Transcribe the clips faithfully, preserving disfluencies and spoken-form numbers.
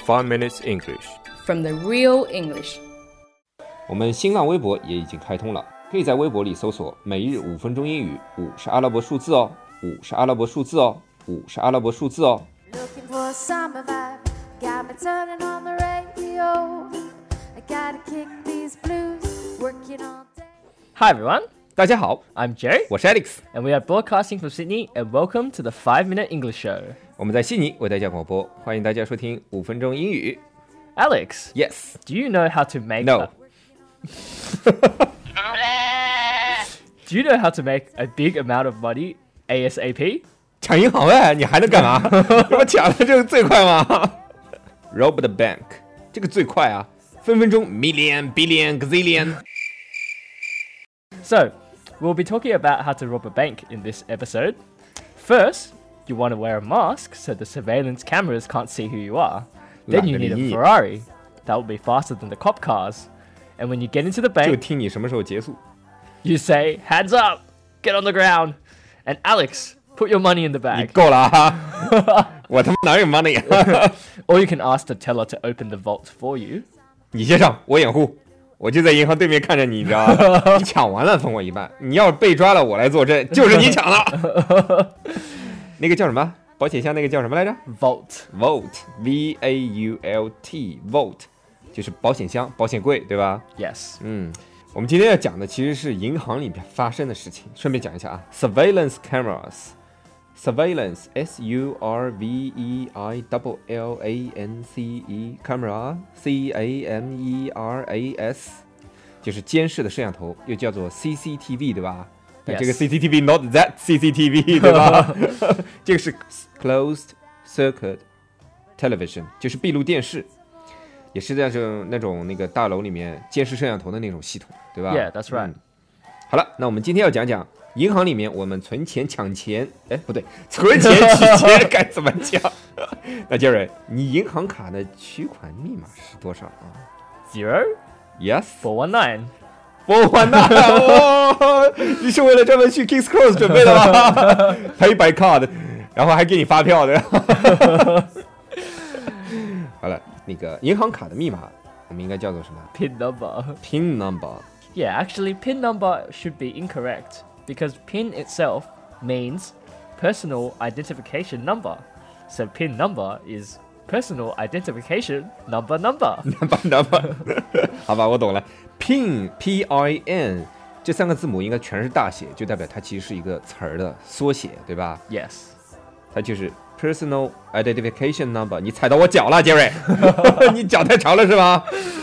Five Minutes English from the real English。 我们新浪微博也已经开通了，可以在微博里搜索每日五分钟英语，五是阿拉伯数字哦，五是阿拉伯数字哦，五是阿拉伯数字哦。 Looking for a summer vibe, got me turning on the radio. I gotta kick these blues, working all day. Hi everyone, 大家好， I'm Jerry, 我是 Alex， and we are broadcasting from Sydney, and welcome to the five minute English Show. 我们在悉尼为大家广播，欢迎大家收听五分钟英语。 Alex, Yes, do you know how to make No. a... Do you know how to make a big amount of money ASAP? 抢银行哎，你还能干嘛？这不抢的这个最快吗？Rob the bank， 这个最快啊，分分钟 million billion gazillion。 So, we'll be talking about how to rob a bank in this episode. First, you want to wear a mask so the surveillance cameras can't see who you are. Then you need a Ferrari. That will be faster than the cop cars. And when you get into the 就 bank, 听你什么时候结束。 you say, hands up, get on the ground. And Alex, put your money in the 你 bag. 够了啊！我他妈哪有 money 啊？ Or you can ask the teller to open the vault for you. 你先上，我掩护。我就在银行对面看着你，你知道吧？你抢完了分我一半。你要是被抓了，我来作证，就是你抢了。那个叫什么？保险箱那个叫什么来着 Vault. ？Vault, V A U L T, Vault， 就是保险箱、保险柜，对吧？ Yes. 嗯，我们今天要讲的其实是银行里面发生的事情。顺便讲一下啊 ，surveillance cameras。Surveillance, S U R V E I L L A N C E, camera, C A M E R A S， 就是监视的摄像头，又叫做 C C T V， 对吧？ Yes. 这个 C C T V not that C C T V， 对吧？这个是 closed circuit television， 就是闭路电视，也是在这那种那个大楼里面监视摄像头的那种系统，对吧 Yeah, that's right. 嗯好了，那我们今天要讲讲银行里面我们存钱抢钱，哎，不对，存钱取钱该怎么讲？那杰瑞，你银行卡的取款密码是多少啊 Zero, ？Yes， four one nine. 我完蛋哦！你是为了专门去 Kings Cross 准备的吗？Pay by card， 然后还给你发票的。好了，那个银行卡的密码我们应该叫做什么 Pin number. ？Pin number。 Yeah, actually, PIN number should be incorrect because PIN itself means personal identification number. So PIN number is personal identification number number. number number， 好吧，我懂了。Pin P I N 这三个字母应该全是大写，就代表它其实是一个词儿的缩写，对吧？ Yes. 它就是 personal identification number。你踩到我脚了，杰瑞，你脚太长了是吧？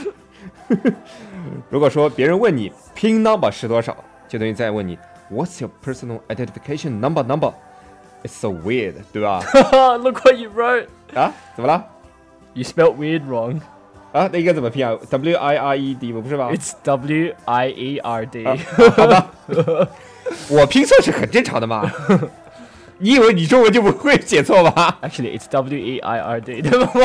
如果说别人问你 Pin number 是多少，就等于在问你 What's your personal identification number number？ It's so weird， 对吧？ Look what you wrote. 啊，怎么了？ You spelled weird wrong. 啊，那应该怎么拼啊 ？W I R E D 不是吧？ It's W I E R D. 啊、好吧，我拼错是很正常的嘛。你以为你中文就不会写错吧 Actually, it's W E I R D.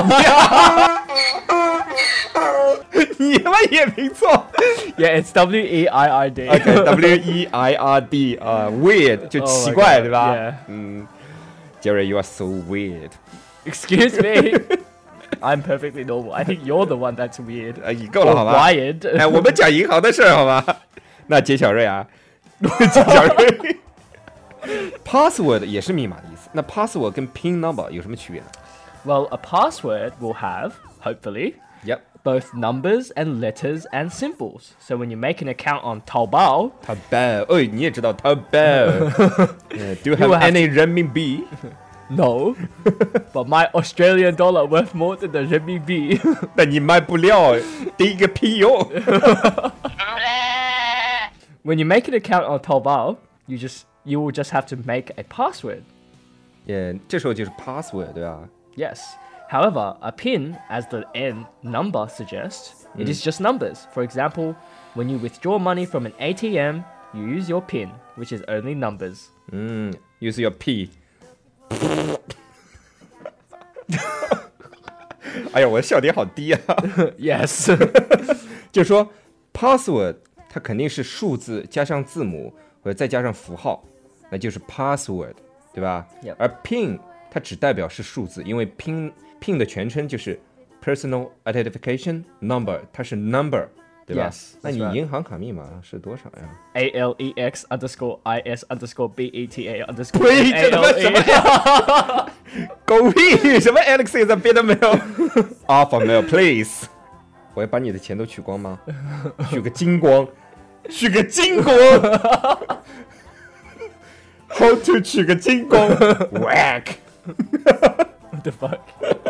你他妈也拼错 Yeah, it's W E I R D. OK W E I R D 啊、uh, weird 就 Oh my 奇怪 God, 对吧 yeah. 嗯 Jerry you are so weird Excuse me. I'm perfectly normal. I think you're the one that's weird. 啊你够了 Or 好吧 wired. 哎我们讲银行的事儿好吧那杰小瑞啊杰小瑞password 也是密码的意思那 password 跟 pin number 有什么区别呢 Well, a password will have, hopefully, Yep both numbers and letters and symbols. So when you make an account on Taobao, 淘宝哎你也知道淘宝 uh, Do you have will have any renminbi no, but my Australian dollar worth more than the renminbi. 那你卖不了第一个屁用 When you make an account on Taobao, you just you will just have to make a password. 也这时候就是 password 对吧 Yes. However, a PIN, as the N number suggests, it is just numbers. For example, when you withdraw money from an A T M, you use your PIN, which is only numbers. 嗯 use your P 哎呀我的笑点好低啊 Yes. 就说 password 它肯定是数字加上字母或者再加上符号那就是 password 对吧 Yep. 而 pin 它只代表是数字因为 pin pin 的全称就是 personal identification number， 它是 number， 对吧？ Yes, 那你 that's right. 银行卡密码是多少呀？ A L E X underscore I S underscore B E T A underscore 呸， A 这他妈 L 什么 E。 呀？狗屁！什么 Alex 在别的没有 ？Alpha male please， 我要把你的钱都取光吗？取个精光，取个精光。How to 取个精光 ？Whack！What the fuck？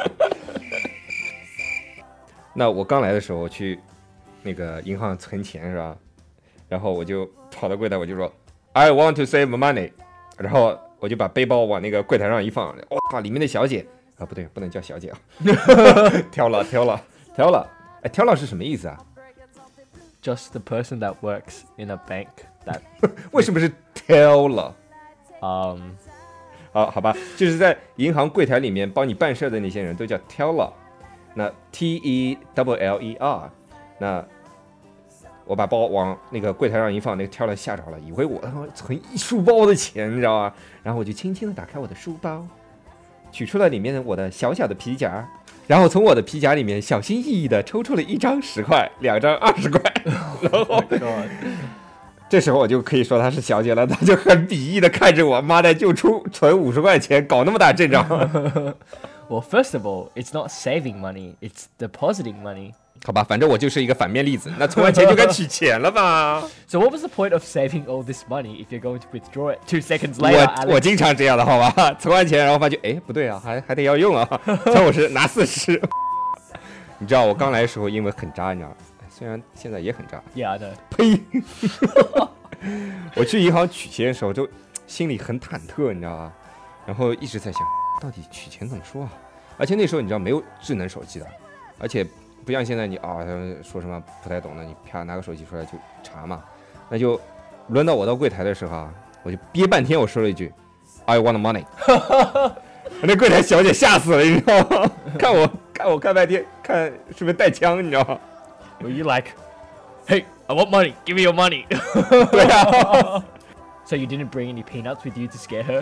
那我刚来的时候，我去那个银行存钱是吧？然后我就跑到柜台，我就说 I want to save money， 然后我就把背包往那个柜台上一放，哇，里面的小姐啊，不对，不能叫小姐啊，挑了挑了挑了，哎，挑了是什么意思啊？ Just the person that works in a bank that 为什么是挑了？ um 好，好吧，就是在银行柜台里面帮你办事的那些人都叫 teller， 那 T E L L E R， 那我把包往那个柜台上一放，那个 teller 吓着了，以为我存一书包的钱，你知道吗？然后我就轻轻的打开我的书包，取出了里面我的小小的皮夹，然后从我的皮夹里面小心翼翼的抽出了一张十块，两张二十块，然后。这时候我就可以说她是小姐了，她就很鄙夷的看着我，妈的，就出存五十块钱，搞那么大阵仗。 Well, first of all, it's not saving money; it's depositing money. 好吧，反正我就是一个反面例子。那存完钱就该取钱了吧？ So what was the point of saving all this money if you're going to withdraw it two seconds later? 我我经常这样的，好吧？存完钱然后发觉，哎，不对啊，还还得要用啊，存五十拿四十。你知道我刚来的时候英文很渣，你知道吗？虽然现在也很渣。 Yeah, I know. 呸！我去银行取钱的时候，就心里很忐忑，你知道吧？然后一直在想，到底取钱怎么说啊？而且那时候你知道没有智能手机的，而且不像现在你啊说什么不太懂的，你啪拿个手机出来就查嘛。那就轮到我到柜台的时候啊，我就憋半天，我说了一句 I want money。那柜台小姐吓死了，你知道吗？看我看我看半天，看是不是带枪，你知道吗？ Were you like, hey, I want money, give me your money? 对啊。 So you didn't bring any peanuts with you to scare her?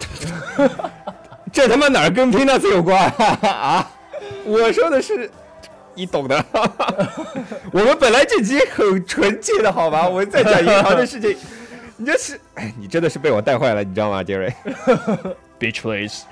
这他妈哪儿跟 peanuts 有关啊？我说的是，你懂的。我们本来这集很纯洁的好吧？我们在讲银行的事情，你这是，哎，你真的是被我带坏了，你知道吗，杰瑞 Bitch, please.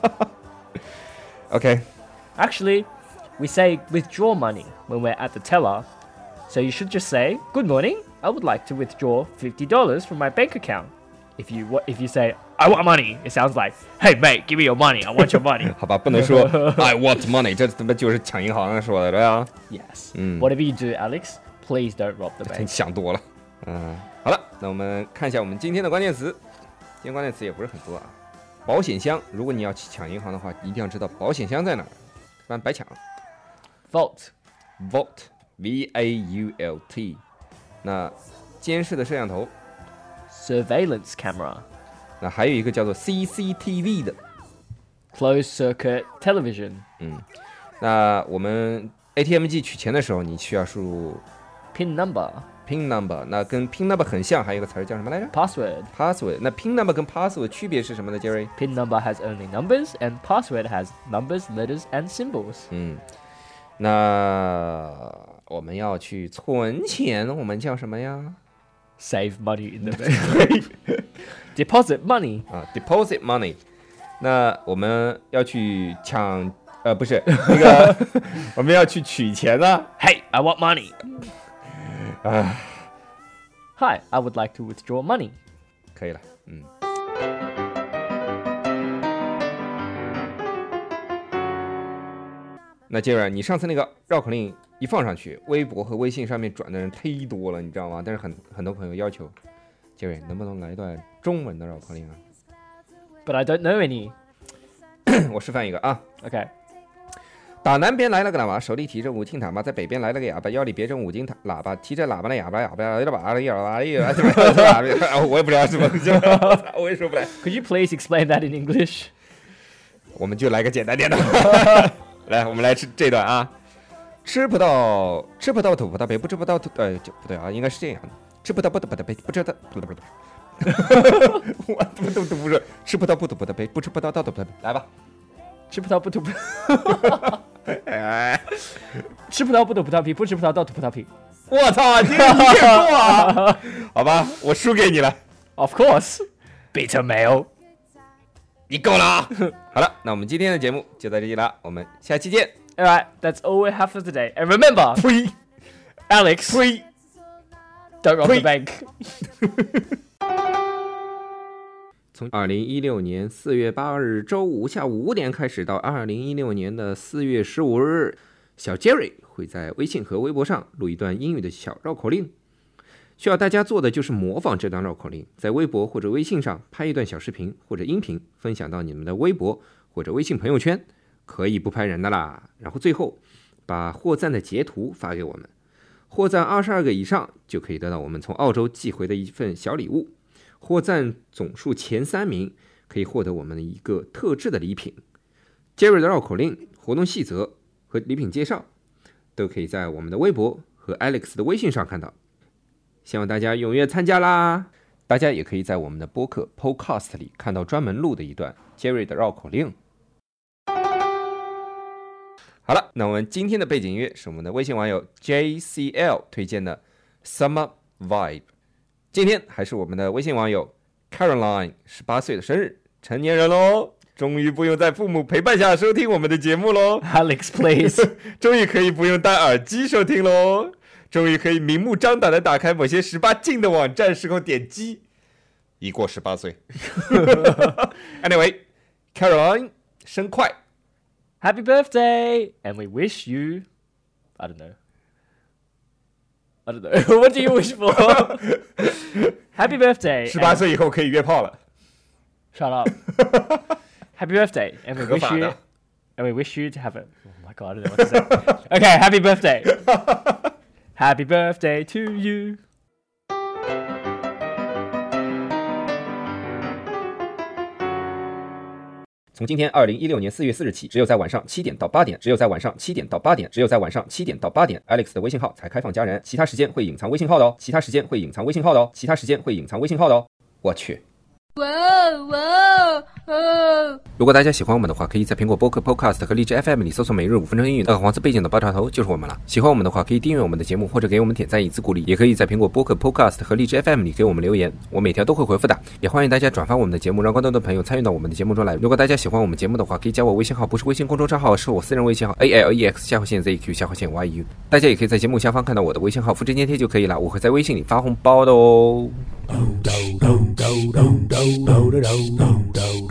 OK. Actually, we say withdraw money when we're at the teller. So you should just say, good morning, I would like to withdraw fifty dollars from my bank account. If you if you say, I want money, it sounds like, hey mate, give me your money, I want your money. 好吧，不能说 I want money， 这他妈就是抢银行说的，对吧？ Yes. 嗯 Whatever you do, Alex, please don't rob the 你 bank. 想多了。嗯，好了，那我们看一下我们今天的关键词。今天关键词也不是很多啊。保险箱，如果你要去抢银行的话，一定要知道保险箱在哪儿，不然白抢。 Vault. Vault，V A U L T。那监视的摄像头， Surveillance camera. 那还有一个叫做 C C T V 的。 Closed circuit television. 嗯，那我们 A T M 机取钱的时候，你需要输入 Pin number. PIN number， 那跟 PIN number 很像，还有一个词儿叫什么来着 Password. ？Password。那 PIN number 跟 password 区别是什么呢 ，Jerry？ Pin number has only numbers, and password has numbers, letters, and symbols. 嗯，那我们要去存钱，我们叫什么呀？ Save money in the bank. Deposit money. 啊 ，deposit money。那我们要去抢，呃，不是那个，我们要去取钱呢。 Hey, I want money. 啊， Hi, I would like to withdraw money. 可以了，嗯。那接着，你上次那个绕口令一放上去，微博和微信上面转的人忒多了，你知道吗？但是很很多朋友要求，杰瑞能不能来一段中文的绕口令啊？ But I don't know any. 我示范一个啊。 Okay. 打南边来了个喇叭，手里提着五斤塔嘛，在北边来了个哑巴，腰里别着五斤塔喇叭，提着喇叭的哑巴，哑巴哑巴哑巴哑巴，我也不知道什么，我也说不来。 Could you please explain that in English? 我们就来个简单点的，来，我们来吃这段啊。吃不到吃不到吐葡萄皮，不吃不到吐，呃，就不对啊，应该是这样的。吃不到不吐葡萄皮，不吃的，不不不，我怎么都读不顺。吃不到不吐葡萄皮，不吃不到倒吐葡萄皮，来吧。 吃不到不吐葡哎， 吃葡萄不吐葡萄皮，不吃葡萄倒吐葡萄皮。 我操，这个你也过啊？好吧，我输给你了。 Of course, bitter male. 你够了啊！好了，那我们今天的节目就到这里了，我们下期见。 All right, that's all we have for today. And remember, 呸 Alex, 呸 don't rob the 呸 bank. 从二零一六年四月八日周五下午五点开始，到二零一六年的四月十五日，小 Jerry 会在微信和微博上录一段英语的小绕口令。需要大家做的就是模仿这段绕口令，在微博或者微信上拍一段小视频或者音频，分享到你们的微博或者微信朋友圈，可以不拍人的啦。然后最后把获赞的截图发给我们，获赞二十二个以上就可以得到我们从澳洲寄回的一份小礼物。获赞总数前三名可以获得我们的一个特制的礼品。Jerry 的绕口令、活动细则和礼品介绍都可以在我们的微博和 Alex 的微信上看到。希望大家踊跃参加啦！大家也可以在我们的播客 Podcast 里看到专门录的一段 Jerry 的绕口令。好了，那我们今天的背景音乐是我们的微信网友 J C L 推荐的 Summer Vibe。今天还是我们的微信网友 Caroline 十八岁的生日，成年人喽，终于不用在父母陪伴下收听我们的节目喽。 Alex, please. 终于可以不用戴耳机收听喽。终于可以明目张胆的打开某些十八禁的网站时候点击，已过十八岁。Anyway, Caroline 生快 Happy birthday, and we wish you, I don't know. I don't know. What do you wish for? Happy birthday. 十八岁以后可以约炮了。 Shut up. Happy birthday, and we 合 wish 法 you, 的。 and we wish you to have a. Oh my god, I don't know what to say. Okay, happy birthday. Happy birthday to you. 从今天二零一六年四月四日起，只有在晚上七点到八点，只有在晚上七点到八点，只有在晚上七点到八点 ，Alex 的微信号才开放加人，其他时间会隐藏微信号的哦，其他时间会隐藏微信号的哦，其他时间会隐藏微信号的哦。我去。 哇哇哦！ 如果大家喜欢我们的话，可以在苹果播客 Podcast 和荔枝 F M 里搜索每日五分钟英语，那个黄色背景的爆炸头就是我们了。喜欢我们的话，可以订阅我们的节目，或者给我们点赞以资鼓励，也可以在苹果播客 Podcast 和荔枝 F M 里给我们留言，我每条都会回复的。也欢迎大家转发我们的节目，让更多的朋友参与到我们的节目中来。如果大家喜欢我们节目的话，可以加我微信号，不是微信公众账号，是我私人微信号 A L E X 下划线 Z Q 下划线 Y U。大家也可以在节目下方看到我的微信号，复制粘贴就可以了，我会在微信里发红包的哦。